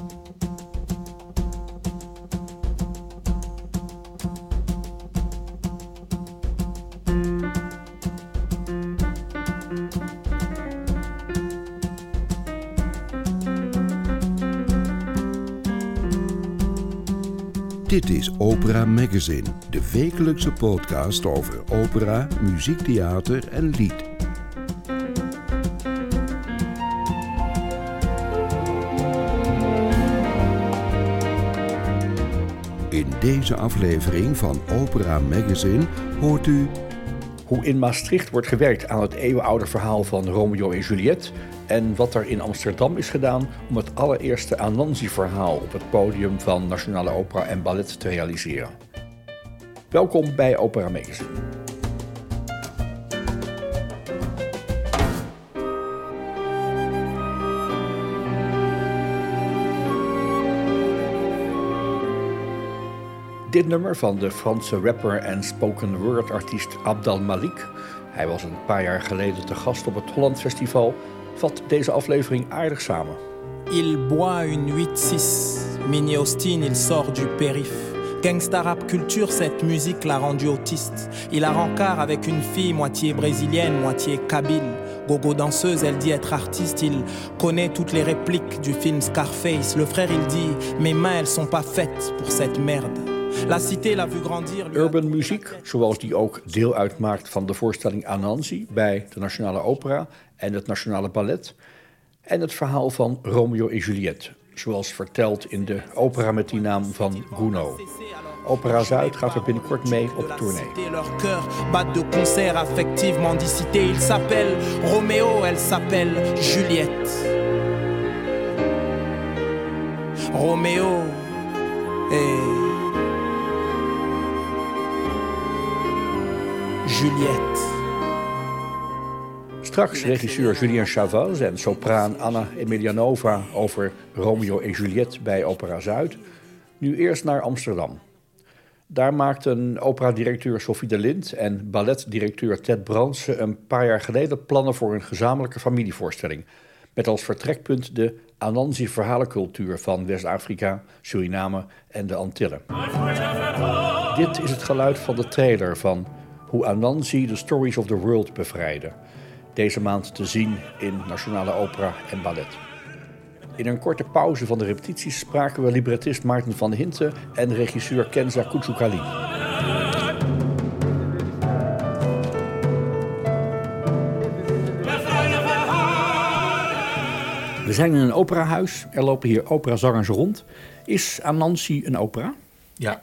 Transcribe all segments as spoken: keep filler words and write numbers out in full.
Dit is Opera Magazine, de wekelijkse podcast over opera, muziektheater en lied. In deze aflevering van Opera Magazine hoort u hoe in Maastricht wordt gewerkt aan het eeuwenoude verhaal van Romeo en Juliet en wat er in Amsterdam is gedaan om het allereerste Anansi-verhaal op het podium van Nationale Opera en Ballet te realiseren. Welkom bij Opera Magazine. Dit nummer van de Franse rapper en spoken word artiest Abdal Malik, hij was een paar jaar geleden te gast op het Holland Festival, vat deze aflevering aardig samen. Il boit une huit six, Mini Austin, il sort du périph. Gangsta rap culture, cette musique l'a rendu autiste. Il a rencard avec une fille moitié brésilienne, moitié kabyle. Gogo danseuse, elle dit être artiste. Il connaît toutes les répliques du film Scarface. Le frère, il dit, mes mains, elles sont pas faites pour cette merde. La cité l'a vu grandir. Urban muziek, zoals die ook deel uitmaakt van de voorstelling Anansi bij de Nationale Opera en het Nationale Ballet. En het verhaal van Romeo en Juliet, zoals verteld in de opera met die naam van Gounod. Opera Zuid gaat er binnenkort mee op tournee. Leur cœur bat de concert affective mendicité. Il s'appelle Romeo, elle s'appelle Juliette. Romeo et Juliette. Straks regisseur Julien Chavaz en sopraan Anna Emelianova over Romeo en Juliet bij Opera Zuid. Nu eerst naar Amsterdam. Daar maakten operadirecteur Sophie de Lint en balletdirecteur Ted Bransen een paar jaar geleden plannen voor een gezamenlijke familievoorstelling. Met als vertrekpunt de Anansi-verhalencultuur van West-Afrika, Suriname en de Antillen. Dit is het geluid van de trailer van hoe Anansi The Stories of the World bevrijdde. Deze maand te zien in Nationale Opera en Ballet. In een korte pauze van de repetities spraken we librettist Maarten van Hinten en regisseur Kenza Kouchoukali. We zijn in een operahuis, er lopen hier operazangers rond. Is Anansi een opera? Ja.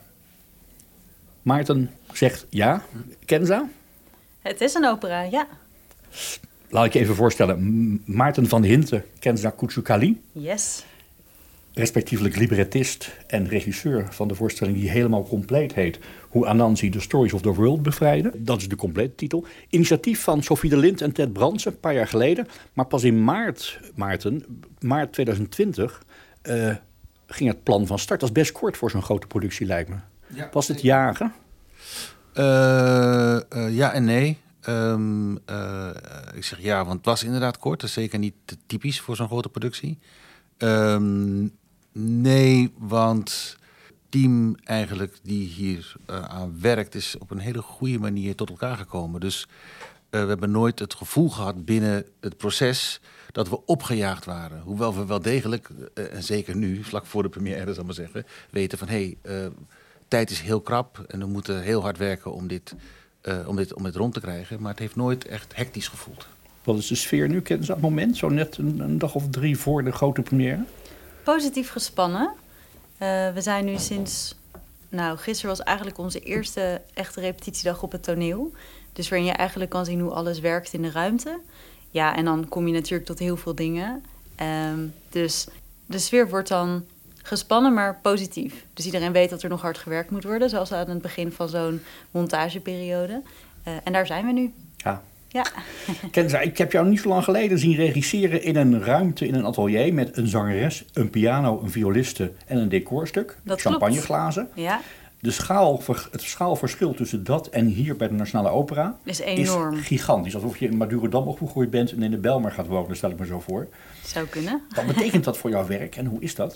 Maarten zegt ja. Kenza? Het is een opera, ja. Laat ik je even voorstellen. Maarten van Hinten, Kenza Kouchoukali. Yes. Respectievelijk librettist en regisseur van de voorstelling die helemaal compleet heet Hoe Anansi The Stories of the World bevrijdde. Dat is de complete titel. Initiatief van Sophie de Lint en Ted Bransen, een paar jaar geleden. Maar pas in maart, Maarten, maart twintig twintig, uh, ging het plan van start. Dat is best kort voor zo'n grote productie, lijkt me. Ja, was het jagen? Uh, uh, ja en nee. Um, uh, ik zeg ja, want het was inderdaad kort. Dat is zeker niet typisch voor zo'n grote productie. Um, nee, want het team eigenlijk die hier uh, aan werkt is op een hele goede manier tot elkaar gekomen. Dus uh, we hebben nooit het gevoel gehad binnen het proces dat we opgejaagd waren. Hoewel we wel degelijk, uh, en zeker nu, vlak voor de première zal ik maar zeggen, weten van hé, hey, uh, tijd is heel krap en we moeten heel hard werken om dit, uh, om dit, om dit rond te krijgen. Maar het heeft nooit echt hectisch gevoeld. Wat is de sfeer nu, Kenza, op dat moment? Zo net een, een dag of drie voor de grote première? Positief gespannen. Uh, we zijn nu sinds... Nou, gisteren was eigenlijk onze eerste echte repetitiedag op het toneel. Dus waarin je eigenlijk kan zien hoe alles werkt in de ruimte. Ja, en dan kom je natuurlijk tot heel veel dingen. Um, dus de sfeer wordt dan gespannen, maar positief. Dus iedereen weet dat er nog hard gewerkt moet worden, zoals aan het begin van zo'n montageperiode. Uh, en daar zijn we nu. Ja. Ja. Kenza, ik heb jou niet zo lang geleden zien regisseren in een ruimte, in een atelier met een zangeres, een piano, een violiste en een decorstuk. Dat champagneglazen. Ja. De schaal, het schaalverschil tussen dat en hier bij de Nationale Opera is enorm. Is gigantisch. Alsof je in Madurodam opgegroeid bent en in de Bijlmer gaat wonen, stel ik me zo voor. Zou kunnen. Wat betekent dat voor jouw werk en hoe is dat?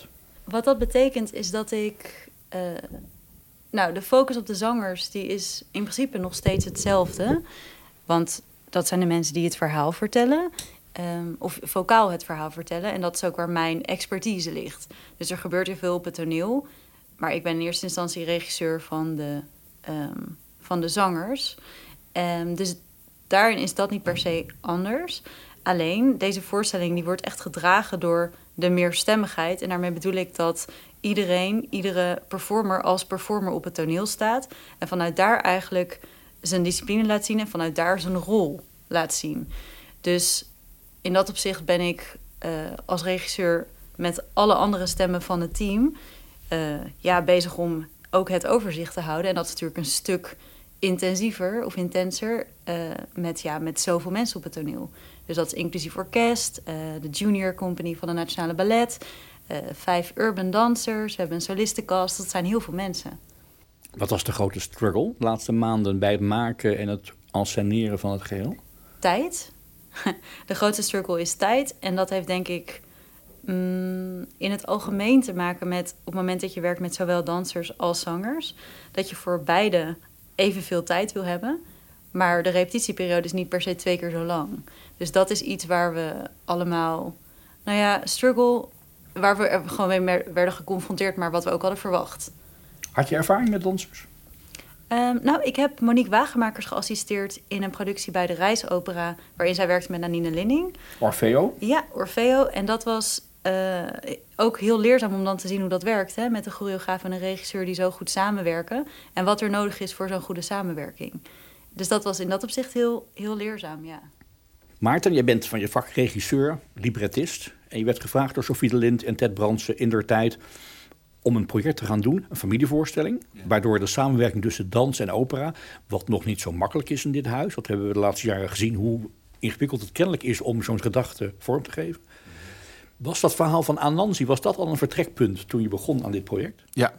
Wat dat betekent is dat ik... Uh, nou, de focus op de zangers die is in principe nog steeds hetzelfde. Want dat zijn de mensen die het verhaal vertellen. Um, of vocaal het verhaal vertellen. En dat is ook waar mijn expertise ligt. Dus er gebeurt heel veel op het toneel. Maar ik ben in eerste instantie regisseur van de, um, van de zangers. Um, dus daarin is dat niet per se anders. Alleen, deze voorstelling die wordt echt gedragen door de meerstemmigheid. En daarmee bedoel ik dat iedereen, iedere performer als performer op het toneel staat. En vanuit daar eigenlijk zijn discipline laat zien en vanuit daar zijn rol laat zien. Dus in dat opzicht ben ik uh, als regisseur met alle andere stemmen van het team uh, ja, bezig om ook het overzicht te houden. En dat is natuurlijk een stuk intensiever of intenser uh, met, ja, met zoveel mensen op het toneel. Dus dat is inclusief orkest, uh, de junior company van de Nationale Ballet, uh, vijf urban dancers, we hebben een solistencast, dat zijn heel veel mensen. Wat was de grote struggle de laatste maanden bij het maken en het enceneren van het geheel? Tijd. De grootste struggle is tijd. En dat heeft denk ik mm, in het algemeen te maken met op het moment dat je werkt met zowel dansers als zangers, dat je voor beide evenveel tijd wil hebben. Maar de repetitieperiode is niet per se twee keer zo lang. Dus dat is iets waar we allemaal, nou ja, struggle, waar we gewoon mee werden geconfronteerd, maar wat we ook hadden verwacht. Had je ervaring met dansers? Um, nou, ik heb Monique Wagemakers geassisteerd in een productie bij de Reisopera, waarin zij werkte met Nanine Linning. Orfeo? Ja, Orfeo. En dat was uh, ook heel leerzaam om dan te zien hoe dat werkt, hè, met een choreograaf en een regisseur die zo goed samenwerken. En wat er nodig is voor zo'n goede samenwerking. Dus dat was in dat opzicht heel, heel leerzaam, ja. Maarten, jij bent van je vak regisseur, librettist. En je werd gevraagd door Sophie de Lint en Ted Brandsen indertijd om een project te gaan doen, een familievoorstelling. Ja. Waardoor de samenwerking tussen dans en opera, wat nog niet zo makkelijk is in dit huis. Dat hebben we de laatste jaren gezien, hoe ingewikkeld het kennelijk is om zo'n gedachte vorm te geven. Was dat verhaal van Anansi, was dat al een vertrekpunt toen je begon aan dit project? Ja.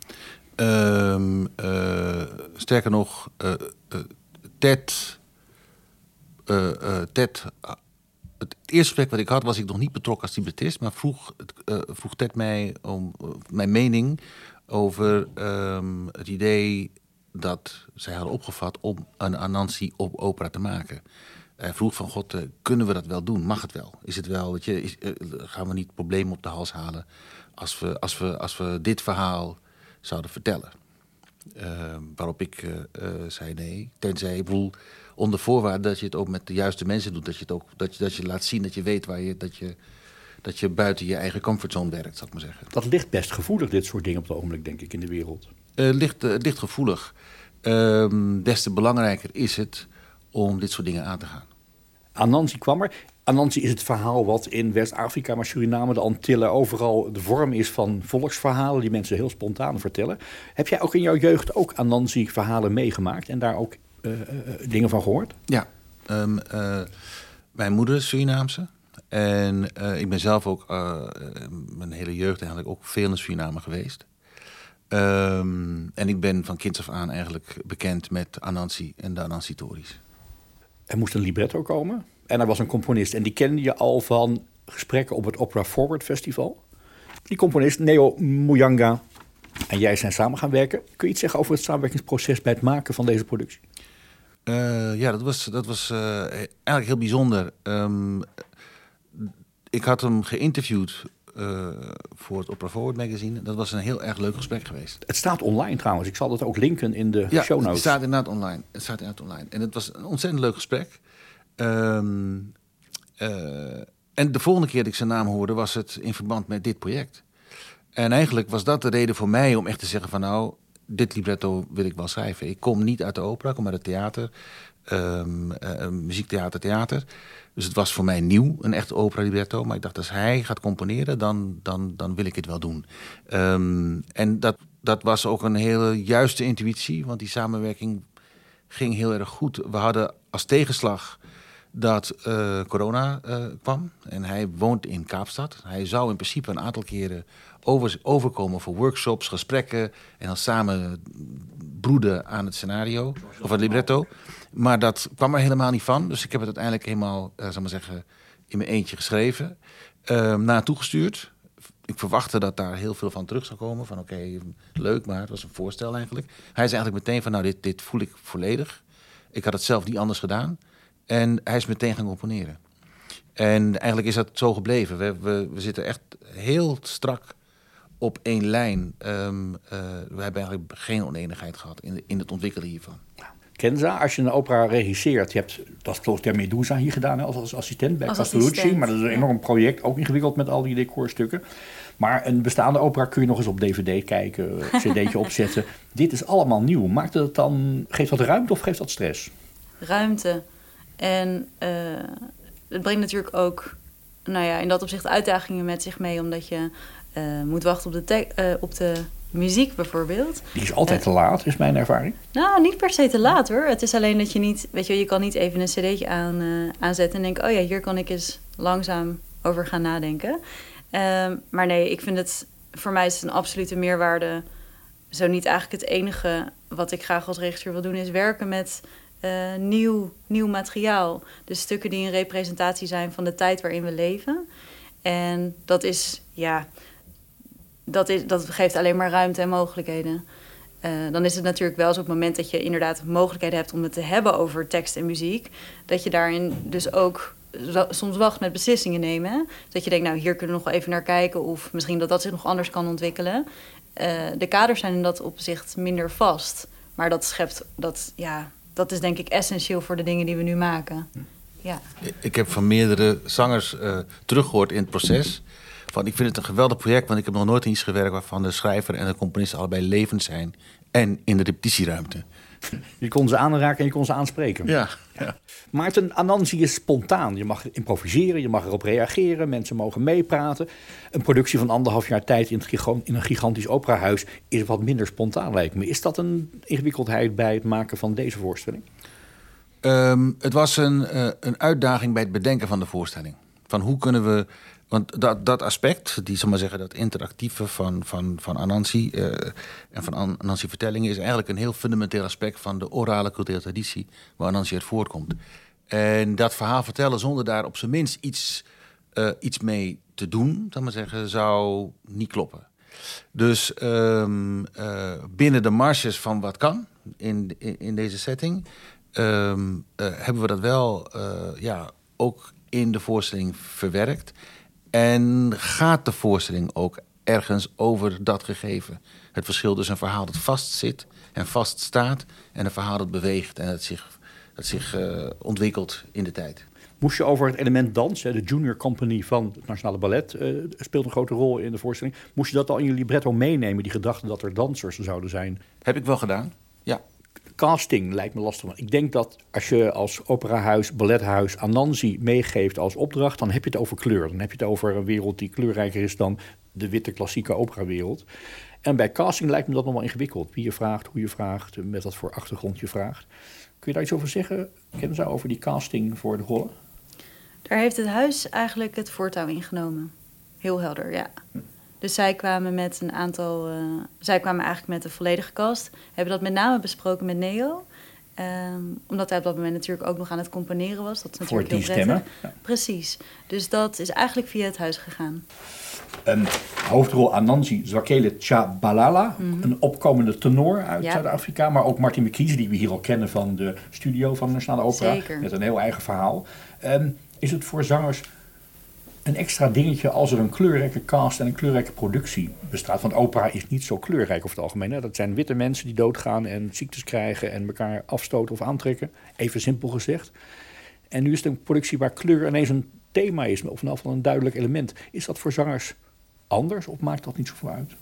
Um, uh, sterker nog, uh, uh, Ted... Uh, uh, Ted uh, het eerste gesprek wat ik had, was ik nog niet betrokken als librettist, maar vroeg, uh, vroeg Ted mij om uh, mijn mening over um, het idee dat zij hadden opgevat om een Anansi op opera te maken. Hij vroeg van, god, uh, kunnen we dat wel doen? Mag het wel? Is het wel, weet je, is, uh, gaan we niet problemen op de hals halen als we, als we, als we dit verhaal zouden vertellen? Uh, waarop ik uh, uh, zei nee, tenzij, ik bedoel, onder voorwaarde dat je het ook met de juiste mensen doet. Dat je het ook dat je, dat je laat zien dat je weet waar je dat, je dat je buiten je eigen comfortzone werkt, zal ik maar zeggen. Dat ligt best gevoelig, dit soort dingen op het ogenblik, denk ik, in de wereld. Het uh, ligt, uh, ligt gevoelig. Uh, des te belangrijker is het om dit soort dingen aan te gaan. Anansi kwam er. Anansi is het verhaal wat in West-Afrika, maar Suriname, de Antillen, overal de vorm is van volksverhalen die mensen heel spontaan vertellen. Heb jij ook in jouw jeugd ook Anansi-verhalen meegemaakt en daar ook uh, uh, dingen van gehoord? Ja, um, uh, mijn moeder is Surinaamse en uh, ik ben zelf ook uh, mijn hele jeugd eigenlijk ook veel in Suriname geweest. Um, en ik ben van kinds af aan eigenlijk bekend met Anansi en de Anansi-tories. Er moest een libretto komen en er was een componist. En die kende je al van gesprekken op het Opera Forward Festival. Die componist, Neo Muyanga, en jij zijn samen gaan werken. Kun je iets zeggen over het samenwerkingsproces bij het maken van deze productie? Uh, ja, dat was, dat was uh, eigenlijk heel bijzonder. Um, ik had hem geïnterviewd uh, voor het Opera Forward magazine. Dat was een heel erg leuk gesprek geweest. Het staat online trouwens. Ik zal dat ook linken in de ja, show notes. Het staat inderdaad online. Het staat inderdaad online. En het was een ontzettend leuk gesprek. Um, uh, en de volgende keer dat ik zijn naam hoorde, was het in verband met dit project. En eigenlijk was dat de reden voor mij om echt te zeggen van nou, dit libretto wil ik wel schrijven. Ik kom niet uit de opera, ik kom uit het theater, um, uh, muziektheater, theater. Dus het was voor mij nieuw, een echt opera libretto. Maar ik dacht, als hij gaat componeren, dan, dan, dan wil ik het wel doen. Um, en dat, dat was ook een hele juiste intuïtie, want die samenwerking ging heel erg goed. We hadden als tegenslag dat uh, corona uh, kwam. En hij woont in Kaapstad. Hij zou in principe een aantal keren over, overkomen voor workshops, gesprekken en dan samen broeden aan het scenario of het libretto. Maar dat kwam er helemaal niet van. Dus ik heb het uiteindelijk helemaal, uh, zal maar zeggen, in mijn eentje geschreven. Uh, naartoe gestuurd. ik verwachtte dat daar heel veel van terug zou komen. Van oké, okay, leuk, maar het was een voorstel eigenlijk. Hij is eigenlijk meteen van, nou, dit, dit voel ik volledig. Ik had het zelf niet anders gedaan. En hij is meteen gaan componeren. En eigenlijk is dat zo gebleven. We, we, we zitten echt heel strak op één lijn. Um, uh, we hebben eigenlijk geen oneenigheid gehad in, de, in het ontwikkelen hiervan. Kenza, als je een opera regisseert, je hebt dat Closter Medusa hier gedaan hè, als, als assistent bij als Castellucci. Assistent, maar dat is een enorm project, ook ingewikkeld met al die decorstukken. Maar een bestaande opera kun je nog eens op D V D kijken, cd'tje opzetten. Dit is allemaal nieuw. Maakt het dan, geeft dat ruimte of geeft dat stress? Ruimte. En uh, het brengt natuurlijk ook, nou ja, in dat opzicht uitdagingen met zich mee, omdat je uh, moet wachten op de, te- uh, op de muziek bijvoorbeeld. Die is altijd uh, te laat, is mijn ervaring. Nou, niet per se te laat hoor. Het is alleen dat je niet, weet je, je kan niet even een cd'tje aan, uh, aanzetten en denken, oh ja, hier kan ik eens langzaam over gaan nadenken. Uh, maar nee, ik vind het, voor mij is het een absolute meerwaarde. Zo niet eigenlijk het enige wat ik graag als regisseur wil doen, is werken met uh, nieuw, nieuw materiaal. Dus stukken die een representatie zijn van de tijd waarin we leven. En dat is, ja, dat, is, dat geeft alleen maar ruimte en mogelijkheden. Uh, dan is het natuurlijk wel zo op het moment dat je inderdaad mogelijkheden hebt om het te hebben over tekst en muziek, dat je daarin dus ook soms wacht met beslissingen nemen. Hè? Dat je denkt, nou, hier kunnen we nog wel even naar kijken, of misschien dat dat zich nog anders kan ontwikkelen. Uh, de kaders zijn in dat opzicht minder vast. Maar dat schept, dat, ja, dat is denk ik essentieel voor de dingen die we nu maken. Ja. Ik heb van meerdere zangers uh, teruggehoord in het proces. Van, ik vind het een geweldig project, want ik heb nog nooit in iets gewerkt waarvan de schrijver en de componist allebei levend zijn en in de repetitieruimte. Je kon ze aanraken en je kon ze aanspreken. Ja, ja. Maarten, Anansi is spontaan. Je mag improviseren, je mag erop reageren, mensen mogen meepraten. Een productie van anderhalf jaar tijd in, het gigant, in een gigantisch operahuis is wat minder spontaan, lijkt me. Is dat een ingewikkeldheid bij het maken van deze voorstelling? Um, het was een, uh, een uitdaging bij het bedenken van de voorstelling. Van hoe kunnen we... Want dat, dat aspect, die zal maar zeggen, dat interactieve van, van, van Anansi uh, en van Anansi vertellingen, is eigenlijk een heel fundamenteel aspect van de orale culturele traditie waar Anansi uit voortkomt. En dat verhaal vertellen zonder daar op zijn minst iets, uh, iets mee te doen, zal maar zeggen, zou niet kloppen. Dus um, uh, binnen de marges van wat kan in, in, in deze setting, um, uh, hebben we dat wel uh, ja, ook in de voorstelling verwerkt. En gaat de voorstelling ook ergens over dat gegeven? Het verschil tussen een verhaal dat vastzit en vaststaat en een verhaal dat beweegt en dat zich, dat zich uh, ontwikkelt in de tijd. Moest je over het element dans, de Junior Company van het Nationale Ballet uh, speelt een grote rol in de voorstelling. Moest je dat al in je libretto meenemen, die gedachte dat er dansers zouden zijn? Heb ik wel gedaan, ja. Casting lijkt me lastig. Ik denk dat als je als operahuis, ballethuis Anansi meegeeft als opdracht, dan heb je het over kleur. Dan heb je het over een wereld die kleurrijker is dan de witte klassieke operawereld. En bij casting lijkt me dat nog wel ingewikkeld. Wie je vraagt, hoe je vraagt, met wat voor achtergrond je vraagt. Kun je daar iets over zeggen, Kenza, over die casting voor de rollen? Daar heeft het huis eigenlijk het voortouw ingenomen. Heel helder, ja. Hm. Dus zij kwamen met een aantal... Uh, zij kwamen eigenlijk met de volledige cast. Hebben dat met name besproken met Neo. Um, omdat hij op dat moment natuurlijk ook nog aan het componeren was. Dat is natuurlijk voor die heel prettig. stemmen? Ja. Precies. Dus dat is eigenlijk via het huis gegaan. Een hoofdrol Anansi Zwakele Tshabalala. Mm-hmm. Een opkomende tenor uit ja. Zuid-Afrika. Maar ook Martin McKees, die we hier al kennen van de studio van de Nationale Opera. Zeker. Met een heel eigen verhaal. Um, is het voor zangers een extra dingetje als er een kleurrijke cast en een kleurrijke productie bestaat? Want opera is niet zo kleurrijk over het algemeen. Hè? Dat zijn witte mensen die doodgaan en ziektes krijgen en elkaar afstoten of aantrekken. Even simpel gezegd. En nu is het een productie waar kleur ineens een thema is, of in ieder geval een duidelijk element. Is dat voor zangers anders of maakt dat niet zoveel uit?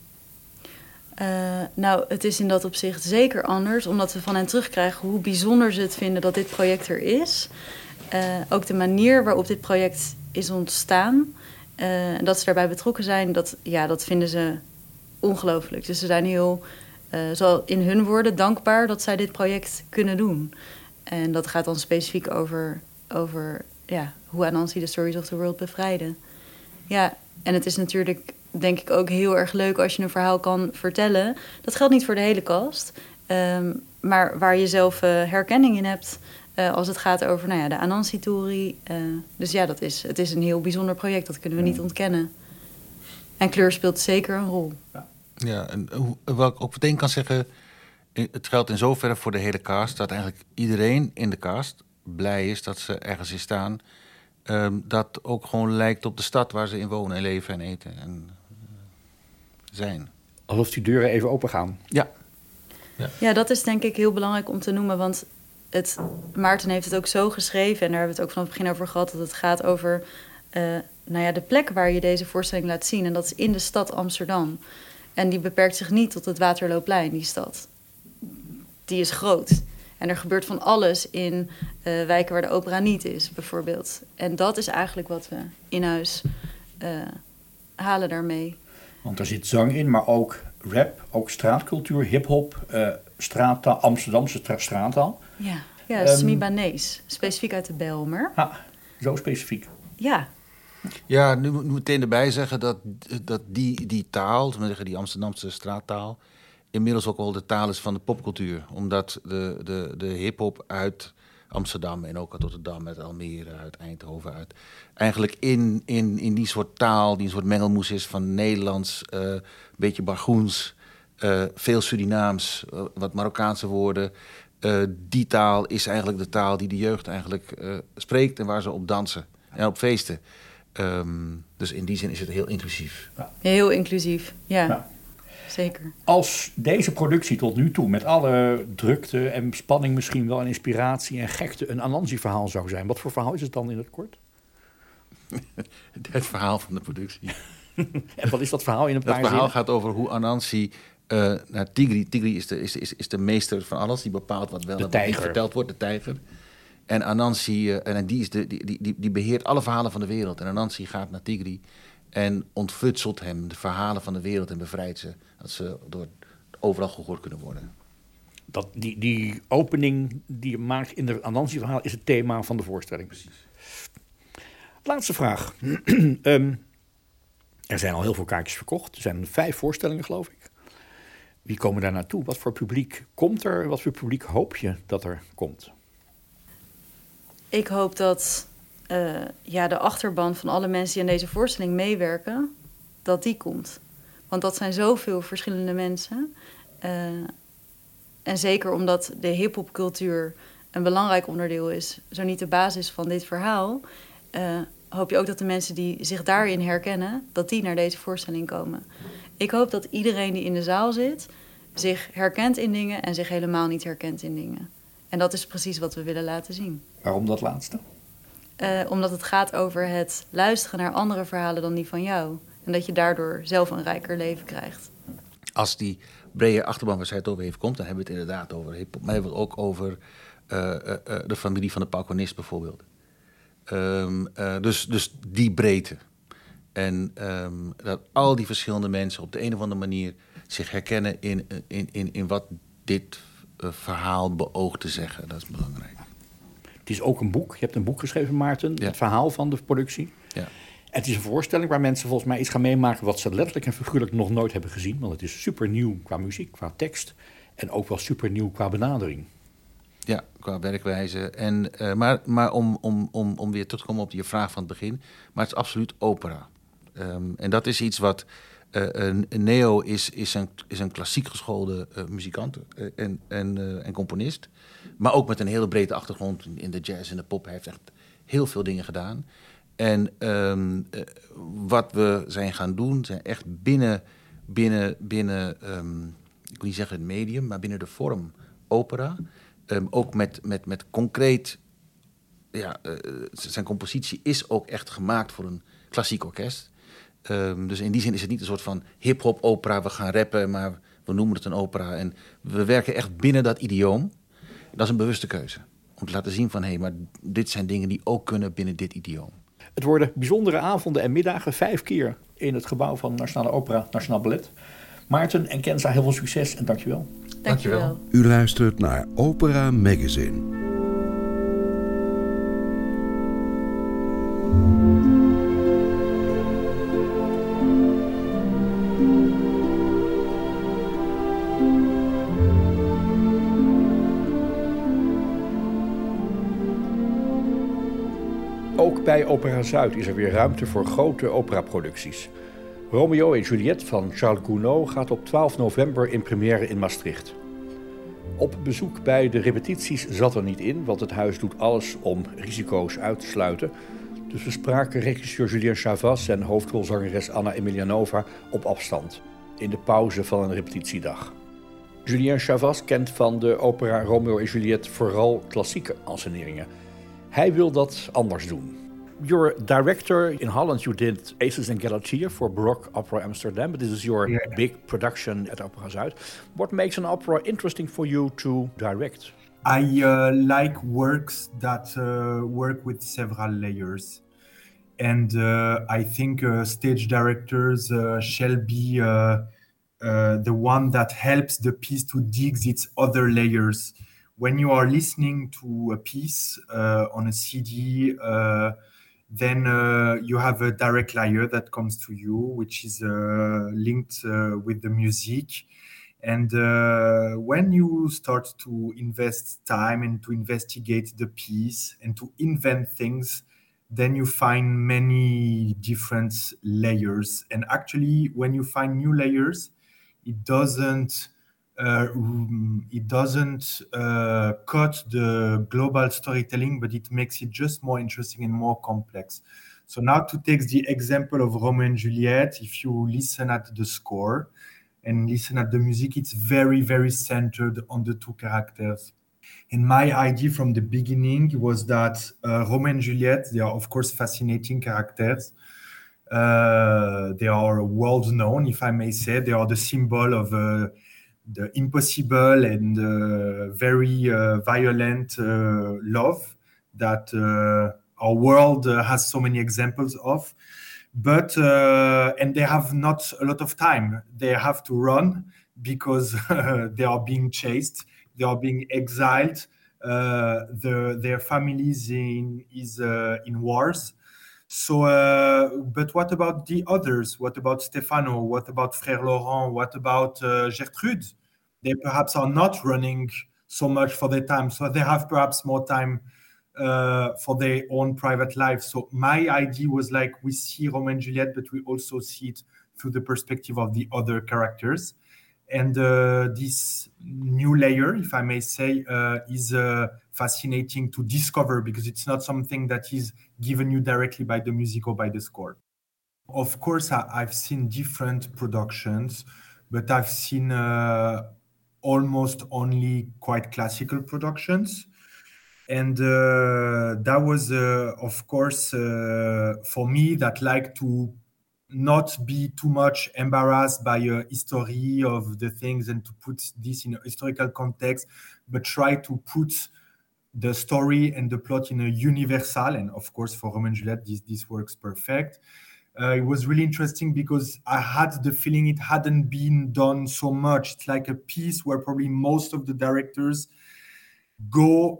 Uh, nou, het is in dat opzicht zeker anders, omdat we van hen terugkrijgen hoe bijzonder ze het vinden dat dit project er is. Uh, ook de manier waarop dit project is ontstaan uh, en dat ze daarbij betrokken zijn, dat, ja, dat vinden ze ongelooflijk. Dus ze zijn heel, uh, zo in hun woorden, dankbaar dat zij dit project kunnen doen. En dat gaat dan specifiek over, over ja, hoe Anansi de Stories of the World bevrijden. Ja, en het is natuurlijk, denk ik, ook heel erg leuk als je een verhaal kan vertellen. Dat geldt niet voor de hele cast, um, maar waar je zelf uh, herkenning in hebt. Uh, als het gaat over nou ja, de Anansi-tory. Uh, dus ja, dat is, het is een heel bijzonder project. Dat kunnen we niet ontkennen. En kleur speelt zeker een rol. Ja. Ja, en hoe- wat ik ook meteen kan zeggen, i- het geldt in zoverre voor de hele cast, dat eigenlijk iedereen in de cast blij is dat ze ergens in staan. ehm, dat ook gewoon lijkt op de stad waar ze in wonen en leven en eten en eh, zijn. Alsof die deuren even open gaan. Ja. Ja, dat is denk ik heel belangrijk om te noemen. Want het, Maarten heeft het ook zo geschreven. En daar hebben we het ook van het begin over gehad. Dat het gaat over uh, nou ja, de plek waar je deze voorstelling laat zien. En dat is in de stad Amsterdam. En die beperkt zich niet tot het Waterloopplein, die stad. Die is groot. En er gebeurt van alles in uh, wijken waar de opera niet is, bijvoorbeeld. En dat is eigenlijk wat we in huis uh, halen daarmee. Want er zit zang in, maar ook rap, ook straatcultuur, hip-hop, uh, straattaal, Amsterdamse tra- straattaal. Ja, ja Um, Semi-Banees, specifiek uit de Bijlmer. Ah, zo specifiek. Ja, Ja, nu moet ik meteen erbij zeggen dat, dat die, die taal, die Amsterdamse straattaal, inmiddels ook al de taal is van de popcultuur. Omdat de, de, de hip-hop uit Amsterdam en ook uit Rotterdam, uit Almere, uit Eindhoven, uit eigenlijk in, in, in die soort taal, die een soort mengelmoes is van Nederlands, uh, een beetje Bargoens, uh, veel Surinaams, uh, wat Marokkaanse woorden. Uh, die taal is eigenlijk de taal die de jeugd eigenlijk uh, spreekt en waar ze op dansen en op feesten. Um, dus in die zin is het heel inclusief. Ja, heel inclusief, ja, ja. Zeker. Als deze productie tot nu toe, met alle drukte en spanning misschien wel en inspiratie en gekte, een Anansi-verhaal zou zijn, wat voor verhaal is het dan in het kort? Het verhaal van de productie. En wat is dat verhaal in een paar zinnen? Het verhaal zinnen? gaat over hoe Anansi uh, naar Tigri... Tigri is de, is, is, is de meester van alles, die bepaalt wat wel en wat niet verteld wordt, de tijger. En Anansi, uh, en die, is de, die, die, die beheert alle verhalen van de wereld. En Anansi gaat naar Tigri en ontfutselt hem de verhalen van de wereld en bevrijdt ze. Dat ze door overal gehoord kunnen worden. Dat, die, die opening die je maakt in het Anansi-verhaal is het thema van de voorstelling. Precies. Laatste vraag. um, er zijn al heel veel kaartjes verkocht. Er zijn vijf voorstellingen, geloof ik. Wie komen daar naartoe? Wat voor publiek komt er? Wat voor publiek hoop je dat er komt? Ik hoop dat uh, ja, de achterban van alle mensen die aan deze voorstelling meewerken, dat die komt. Want dat zijn zoveel verschillende mensen. Uh, en zeker omdat de hiphopcultuur een belangrijk onderdeel is, zo niet de basis van dit verhaal, uh, hoop je ook dat de mensen die zich daarin herkennen, dat die naar deze voorstelling komen. Ik hoop dat iedereen die in de zaal zit zich herkent in dingen en zich helemaal niet herkent in dingen. En dat is precies wat we willen laten zien. Waarom dat laatste? Uh, omdat het gaat over het luisteren naar andere verhalen dan die van jou. En dat je daardoor zelf een rijker leven krijgt. Als die brede achterban waar zij het over heeft komt, dan hebben we het inderdaad over hip-hop. Maar hebben we het ook over uh, uh, uh, de familie van de paukonist bijvoorbeeld. Um, uh, dus, dus die breedte. En um, dat al die verschillende mensen op de een of andere manier zich herkennen in, in, in, in wat dit uh, verhaal beoogt te zeggen. Dat is belangrijk. Het is ook een boek. Je hebt een boek geschreven, Maarten. Ja. Het verhaal van de productie. Ja. Het is een voorstelling waar mensen volgens mij iets gaan meemaken wat ze letterlijk en figuurlijk nog nooit hebben gezien. Want het is super nieuw qua muziek, qua tekst. En ook wel super nieuw qua benadering. Ja, qua werkwijze. En, uh, maar maar om, om, om, om weer terug te komen op je vraag van het begin. Maar het is absoluut opera. Um, en dat is iets wat... Uh, een Neo is, is, een, is een klassiek geschoolde uh, muzikant uh, en, en, uh, en componist. Maar ook met een hele brede achtergrond in de jazz en de pop. Hij heeft echt heel veel dingen gedaan. En um, uh, wat we zijn gaan doen, zijn echt binnen, binnen, binnen um, ik wil niet zeggen het medium, maar binnen de vorm opera. Um, ook met, met, met concreet, ja, uh, zijn compositie is ook echt gemaakt voor een klassiek orkest. Um, dus in die zin is het niet een soort van hip-hop opera, we gaan rappen, maar we noemen het een opera. En we werken echt binnen dat idioom. Dat is een bewuste keuze. Om te laten zien van, hé, hey, maar dit zijn dingen die ook kunnen binnen dit idioom. Het worden bijzondere avonden en middagen, vijf keer in het gebouw van Nationale Opera, Nationaal Ballet. Maarten en Kenza, heel veel succes en dankjewel. Dankjewel. U luistert naar Opera Magazine. Ook bij Opera Zuid is er weer ruimte voor grote operaproducties. Romeo en Juliet van Charles Gounod gaat op twaalf november in première in Maastricht. Op bezoek bij de repetities zat er niet in, want het huis doet alles om risico's uit te sluiten. Dus we spraken regisseur Julien Chavas en hoofdrolzangeres Anna Emelianova op afstand, in de pauze van een repetitiedag. Julien Chavas kent van de opera Romeo en Juliet vooral klassieke enseneringen. Hij wil dat anders doen. You're a director in Holland. You did Aces and Galatea for Baroque Opera Amsterdam, but this is your yeah. big production at Opera Zuid. What makes an opera interesting for you to direct? I uh, like works that uh, work with several layers. And uh, I think uh, stage directors uh, shall be uh, uh, the one that helps the piece to dig its other layers. When you are listening to a piece uh, on a C D, uh, then uh, you have a direct layer that comes to you, which is uh, linked uh, with the music. And uh, when you start to invest time and to investigate the piece and to invent things, then you find many different layers. And actually, when you find new layers, it doesn't uh, it doesn't uh, cut the global storytelling, but it makes it just more interesting and more complex. So now to take the example of Romeo and Juliet, if you listen at the score and listen at the music, it's very, very centered on the two characters. And my idea from the beginning was that uh, Romeo and Juliet, they are of course fascinating characters. Uh, they are world known, if I may say. They are the symbol of uh, the impossible and uh, very uh, violent uh, love that uh, our world uh, has so many examples of. But, uh, and they have not a lot of time. They have to run because uh, they are being chased. They are being exiled. Uh, the, their families in is uh, in wars. So, uh, but what about the others? What about Stefano? What about Frère Laurent? What about uh, Gertrude? They perhaps are not running so much for their time, so they have perhaps more time uh, for their own private life. So my idea was like, we see Romeo and Juliet, but we also see it through the perspective of the other characters. And uh, this new layer, if I may say, uh, is uh, fascinating to discover because it's not something that is given you directly by the music or by the score. Of course, I, I've seen different productions, but I've seen uh, almost only quite classical productions. And uh, that was, uh, of course, uh, for me, that like to not be too much embarrassed by a history of the things and to put this in a historical context, but try to put the story and the plot in a universal. And of course, for Romeo and Juliet, this, this works perfect. Uh, it was really interesting because I had the feeling it hadn't been done so much. It's like a piece where probably most of the directors go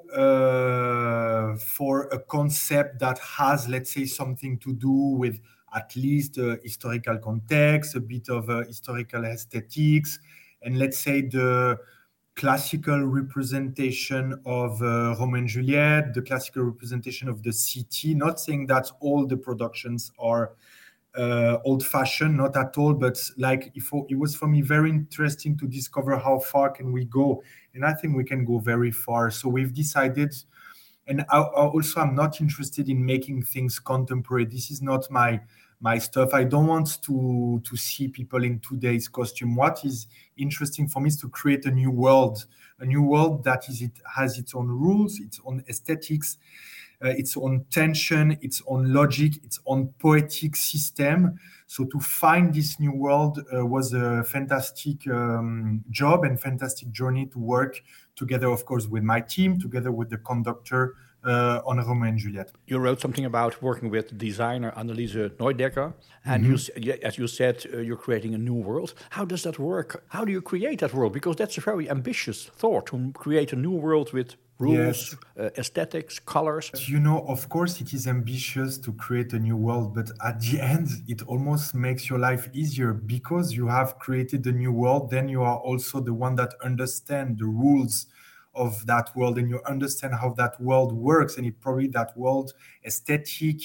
uh, for a concept that has, let's say, something to do with at least uh, historical context, a bit of uh, historical aesthetics, and let's say the classical representation of uh, Romeo and Juliet, the classical representation of the city. Not saying that all the productions are uh, old-fashioned, not at all, but like if, it was for me very interesting to discover how far can we go, and I think we can go very far. So we've decided, and I, I also I'm not interested in making things contemporary. This is not my my stuff. I don't want to to see people in today's costume. What is interesting for me is to create a new world, a new world that is it has its own rules, its own aesthetics, uh, its own tension, its own logic, its own poetic system. So to find this new world uh, was a fantastic um, job and fantastic journey to work together, of course, with my team, together with the conductor uh, on Romeo and Juliet. You wrote something about working with designer Anneliese Neudecker, and mm-hmm. you, as you said, uh, you're creating a new world. How does that work? How do you create that world? Because that's a very ambitious thought, to create a new world with rules, yes. uh, aesthetics, colors. You know, of course, it is ambitious to create a new world, but at the end, it almost makes your life easier because you have created a new world. Then you are also the one that understands the rules of that world, and you understand how that world works, and it probably that world aesthetic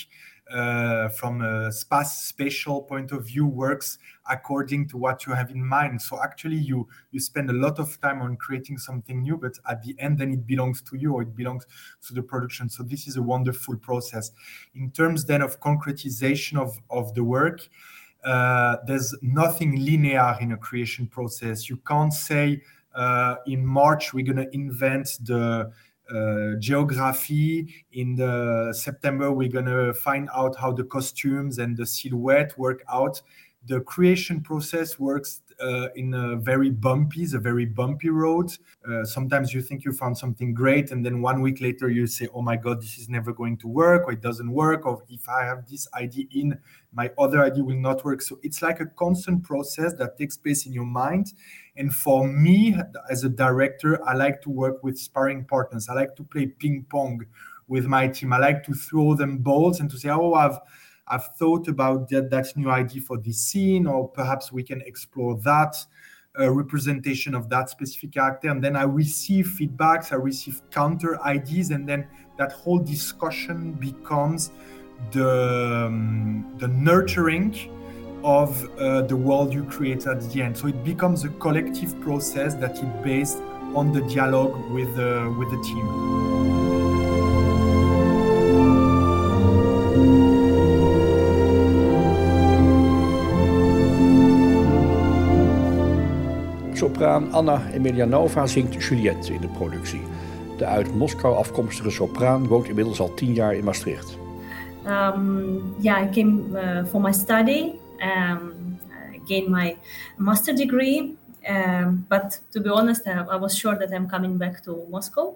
uh, from a space spatial point of view works according to what you have in mind. So actually you you spend a lot of time on creating something new, but at the end then it belongs to you, or it belongs to the production. So this is a wonderful process. In terms then of concretization of, of the work, uh, there's nothing linear in a creation process. You can't say uh, in March we're going to invent the Uh, geography. In the September, we're going to find out how the costumes and the silhouette work out. The creation process works uh, in a very bumpy, it's a very bumpy road. Uh, sometimes you think you found something great, and then one week later you say, oh my God, this is never going to work, or it doesn't work, or if I have this idea in, my other idea will not work. So it's like a constant process that takes place in your mind. And for me, as a director, I like to work with sparring partners. I like to play ping pong with my team. I like to throw them balls and to say, oh, I've I've thought about that, that new idea for this scene, or perhaps we can explore that uh, representation of that specific character. And then I receive feedbacks, I receive counter ideas, and then that whole discussion becomes the, um, the nurturing of uh, the world you create at the end. So it becomes a collective process that is based on the dialogue with, uh, with the team. Sopraan Anna Emelianova zingt Juliette in de productie. De uit Moskou afkomstige sopraan woont inmiddels al tien jaar in Maastricht. Um, yeah, I came uh, for my study, um, I gained my master degree, um, but to be honest, I, I was sure that I'm coming back to Moscow.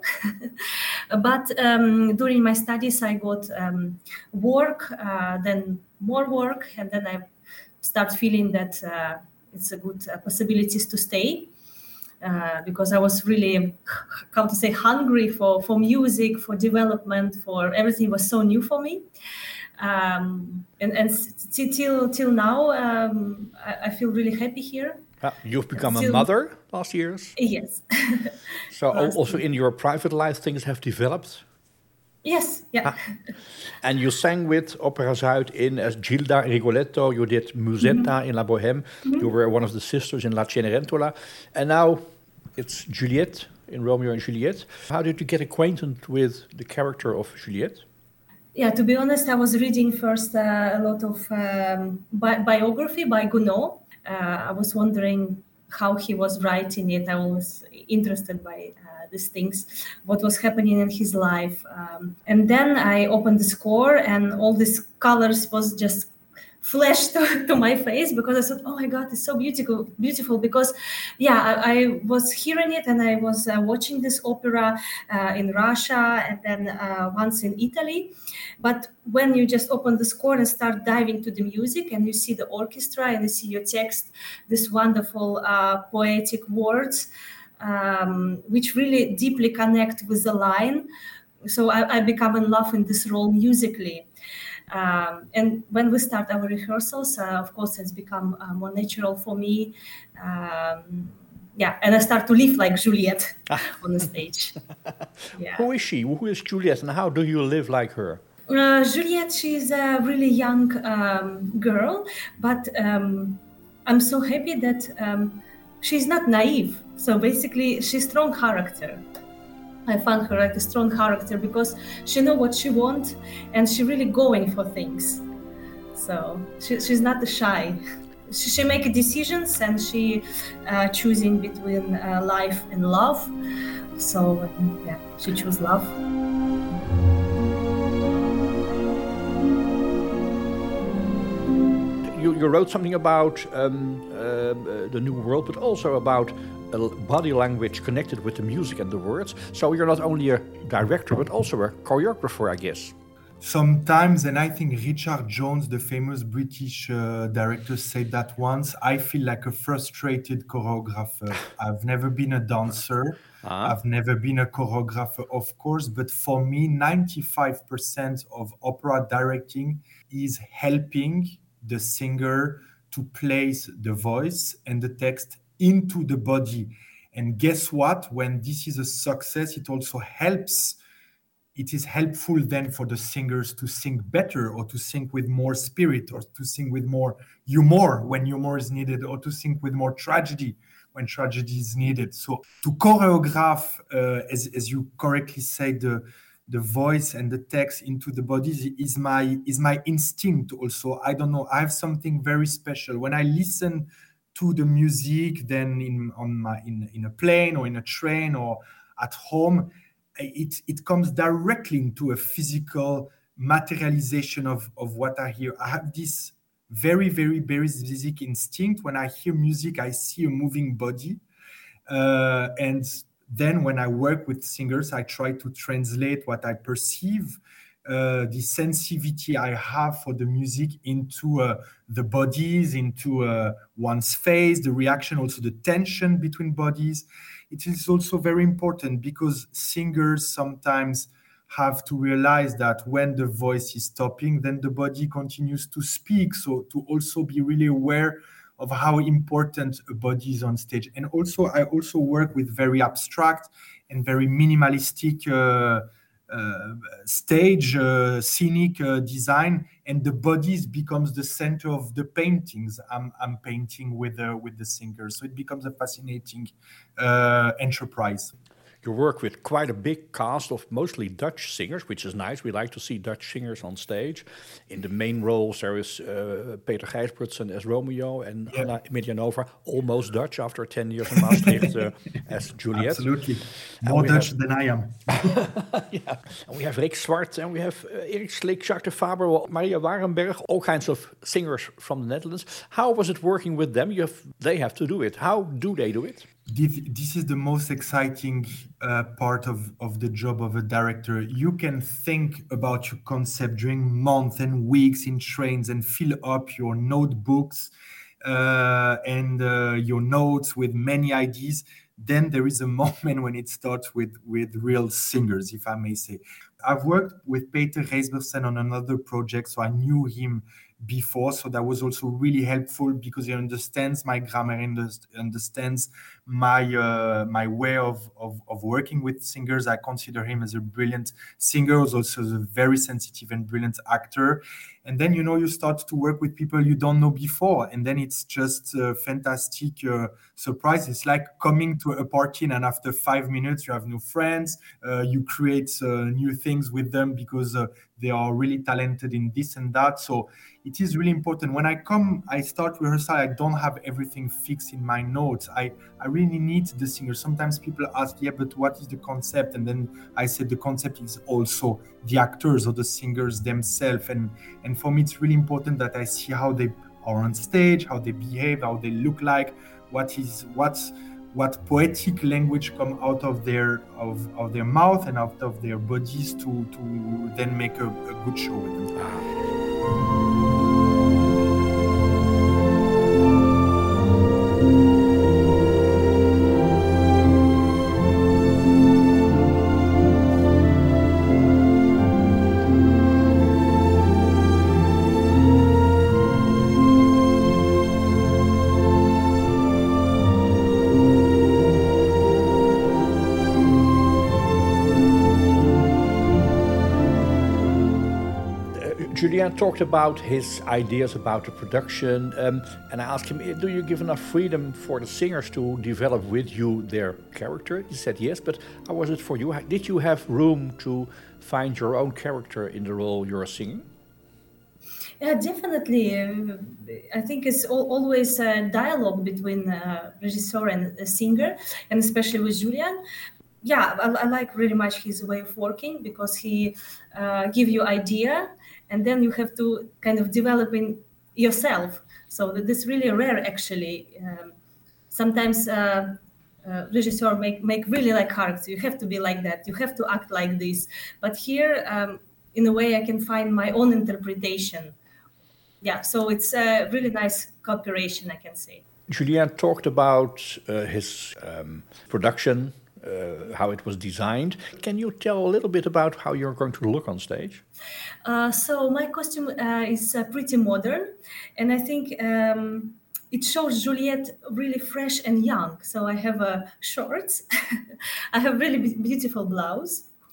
But um, during my studies, I got um, work, uh, then more work, and then I start feeling that uh, it's a good uh, possibilities to stay. Uh, because I was really, how to say, hungry for, for music, for development, for everything was so new for me. Um, and and t- till till now, um, I, I feel really happy here. Uh, you've become Still, a mother last years? Yes. So also in your private life things have developed? Yes, yeah. Ah. And you sang with Opera Zuid in as Gilda Rigoletto. You did Musetta mm-hmm. in La Bohème. Mm-hmm. You were one of the sisters in La Cenerentola. And now it's Juliette in Romeo and Juliet. How did you get acquainted with the character of Juliette? Yeah, to be honest, I was reading first uh, a lot of um, bi- biography by Gounod. Uh, I was wondering how he was writing it. I was interested by uh, these things, what was happening in his life. Um, and then I opened the score and all these colors was just flashed to, to my face, because I thought, oh my God, it's so beautiful, beautiful. Because yeah, I, I was hearing it and I was uh, watching this opera uh, in Russia and then uh, once in Italy. But when you just open the score and start diving to the music and you see the orchestra and you see your text, this wonderful uh, poetic words, um, which really deeply connect with the line. So I, I become in love in this role musically. Um, and when we start our rehearsals, uh, of course, it's become uh, more natural for me. Um, yeah, and I start to live like Juliette on the stage. Yeah. Who is she? Who is Juliette, and how do you live like her? Uh, Juliette, she's a really young um, girl, but um, I'm so happy that um, she's not naive. So basically, she's strong character. I found her like a strong character because she knows what she wants and she really going for things. So she, she's not shy. She, she makes decisions and she uh, choosing between uh, life and love. So yeah, she chose love. You, you wrote something about um, uh, the New World, but also about body language connected with the music and the words. So you're not only a director, but also a choreographer, I guess. Sometimes, and I think Richard Jones, the famous British uh, director, said that once, I feel like a frustrated choreographer. I've never been a dancer. Uh-huh. I've never been a choreographer, of course, but for me, ninety-five percent of opera directing is helping the singer to place the voice and the text into the body. And guess what? When this is a success, it also helps it is helpful then for the singers to sing better, or to sing with more spirit, or to sing with more humor when humor is needed, or to sing with more tragedy when tragedy is needed. So to choreograph, uh, as, as you correctly said, the, the voice and the text into the bodies is my is my instinct also. I don't know, I have something very special. When I listen to the music, then in on my in, in a plane or in a train or at home, it, it comes directly into a physical materialization of, of what I hear. I have this very, very basic instinct. When I hear music, I see a moving body. Uh, and then when I work with singers, I try to translate what I perceive, uh, the sensitivity I have for the music into uh, the bodies, into uh, one's face, the reaction, also the tension between bodies. It is also very important because singers sometimes have to realize that when the voice is stopping, then the body continues to speak. So to also be really aware of how important a body is on stage. And also, I also work with very abstract and very minimalistic uh, uh, stage, uh, scenic uh, design, and the bodies becomes the center of the paintings I'm, I'm painting with, uh, with the singers. So it becomes a fascinating uh, enterprise. You work with quite a big cast of mostly Dutch singers, which is nice. We like to see Dutch singers on stage. In the main roles, there is uh, Peter Gijsbrechtsen as Romeo and yeah. Anna Emilianova, almost Dutch after ten years in Maastricht uh, as Juliet. Absolutely. More Dutch have, than I am. yeah. And we have Rick Swart and we have uh, Erik Slik, Jacques de Faber, Maria Warenberg, all kinds of singers from the Netherlands. How was it working with them? You have, they have to do it. How do they do it? This, this is the most exciting uh, part of, of the job of a director. You can think about your concept during months and weeks in trains and fill up your notebooks uh, and uh, your notes with many ideas. Then there is a moment when it starts with, with real singers, if I may say. I've worked with Peter Gijsbrechtsen on another project, so I knew him before, so that was also really helpful because he understands my grammar, understands my uh, my way of, of of working with singers. I consider him as a brilliant singer, also as a very sensitive and brilliant actor. And then, you know, you start to work with people you don't know before, and then it's just a fantastic uh, surprise. It's like coming to a party, and after five minutes you have new friends. Uh, you create uh, new things with them because uh, they are really talented in this and that. So it is really important. When I come, I start rehearsal, I don't have everything fixed in my notes. I, I really need the singer. Sometimes people ask, yeah, but what is the concept? And then I said the concept is also the actors or the singers themselves. And, and for me, it's really important that I see how they are on stage, how they behave, how they look like, what is what's what poetic language come out of their of, of their mouth and out of their bodies to, to then make a, a good show with them. Ah. Julien talked about his ideas about the production, um, and I asked him, do you give enough freedom for the singers to develop with you their character? He said yes, but how was it for you? Did you have room to find your own character in the role you're singing? Yeah, definitely. Uh, I think it's al- always a dialogue between a regisseur and a singer, and especially with Julien. Yeah, I, I like really much his way of working because he uh, give you idea, and then you have to kind of develop in yourself. So that this really rare, actually. Um, sometimes uh, uh, regisseur make make really like character. You have to be like that. You have to act like this. But here, um, in a way, I can find my own interpretation. Yeah, so it's a really nice cooperation, I can say. Julien talked about uh, his um, production. Uh, how it was designed. Can you tell a little bit about how you're going to look on stage? Uh, so my costume uh, is uh, pretty modern, and I think um, it shows Juliette really fresh and young. So I have uh, shorts, I have really be- beautiful blouse,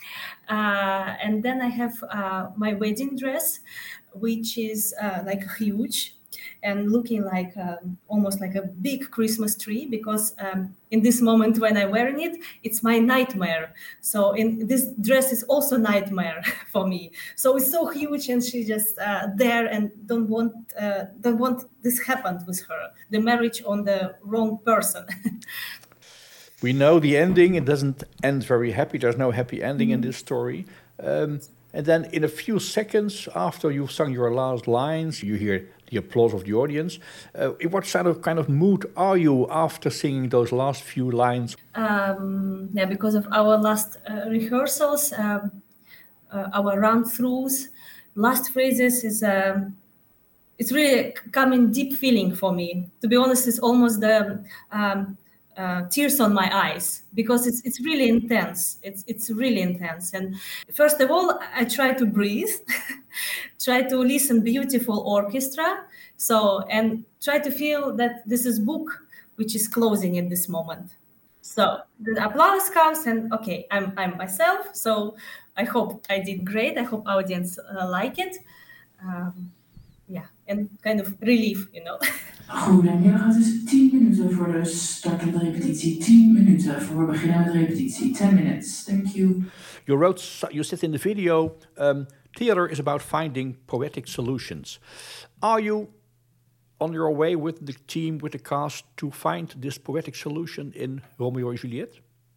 Uh, and then I have uh, my wedding dress, which is uh, like huge and looking like um, almost like a big Christmas tree, because um, in this moment when I'm wearing it, it's my nightmare. So in this dress is also nightmare for me. So it's so huge, and she just uh, there and don't want uh, don't want this happened with her, the marriage on the wrong person. We know the ending. It doesn't end very happy. There's no happy ending mm-hmm. in this story. Um, and then in a few seconds after you've sung your last lines, you hear the applause of the audience. Uh, in what sort of kind of mood are you after singing those last few lines? Um, yeah, because of our last uh, rehearsals, um, uh, our run-throughs, last phrases is um, it's really coming deep feeling for me. To be honest, it's almost the um, uh, tears on my eyes, because it's it's really intense. It's it's really intense. And first of all, I try to breathe, try to listen beautiful orchestra. So and try to feel that this is book which is closing at this moment. So the applause comes, and okay, I'm I'm myself. So I hope I did great. I hope audience uh, like it. Um, yeah, and kind of relief, you know. Goedemiddag, het is tien minuten voor de start van de repetitie. tien minuten voor we beginnen met de repetitie. ten minutes, thank you. You wrote, you said in the video, um, theater is about finding poetic solutions. Are you on your way with the team, with the cast, to find this poetic solution in Romeo and Juliet?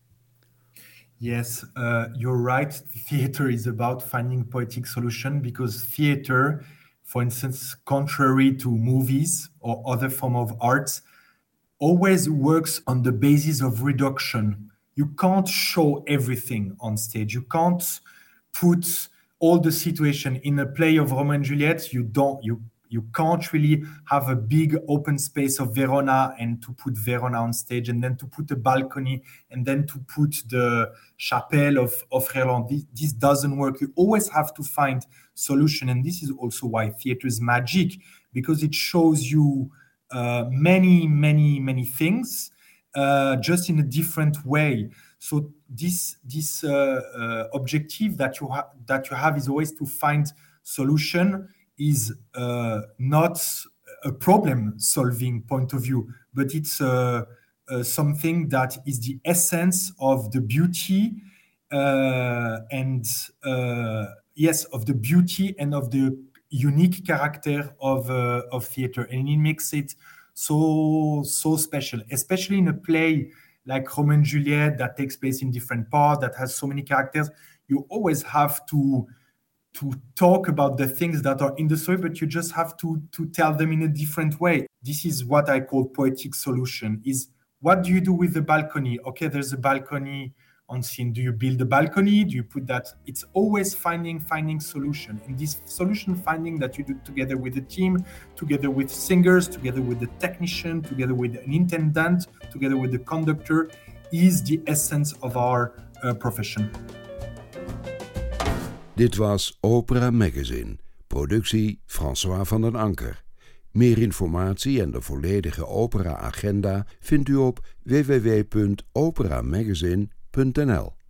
Yes, uh, you're right. Theater is about finding poetic solution, because theater, for instance, contrary to movies or other form of arts, always works on the basis of reduction. You can't show everything on stage. You can't put all the situation in a play of Romeo and Juliet. You don't. You you can't really have a big open space of Verona and to put Verona on stage, and then to put a balcony, and then to put the chapelle of of Roland. This, this doesn't work. You always have to find solution, and this is also why theater is magic, because it shows you uh, many, many, many things uh, just in a different way. So this this uh, uh, objective that you ha- that you have is always to find solution. Is uh, not a problem-solving point of view, but it's uh, uh, something that is the essence of the beauty uh, and uh, yes, of the beauty and of the unique character of uh, of theater, and it makes it so so special, especially in a play like Romeo and Juliet that takes place in different parts, that has so many characters. You always have to. to talk about the things that are in the story, but you just have to to tell them in a different way. This is what I call poetic solution, is what do you do with the balcony? Okay, there's a balcony on scene. Do you build a balcony? Do you put that? It's always finding, finding solution. And this solution finding that you do together with the team, together with singers, together with the technician, together with an intendant, together with the conductor, is the essence of our uh, profession. Dit was Opera Magazine, productie François van den Anker. Meer informatie en de volledige opera-agenda vindt u op w w w punt opera magazine punt n l.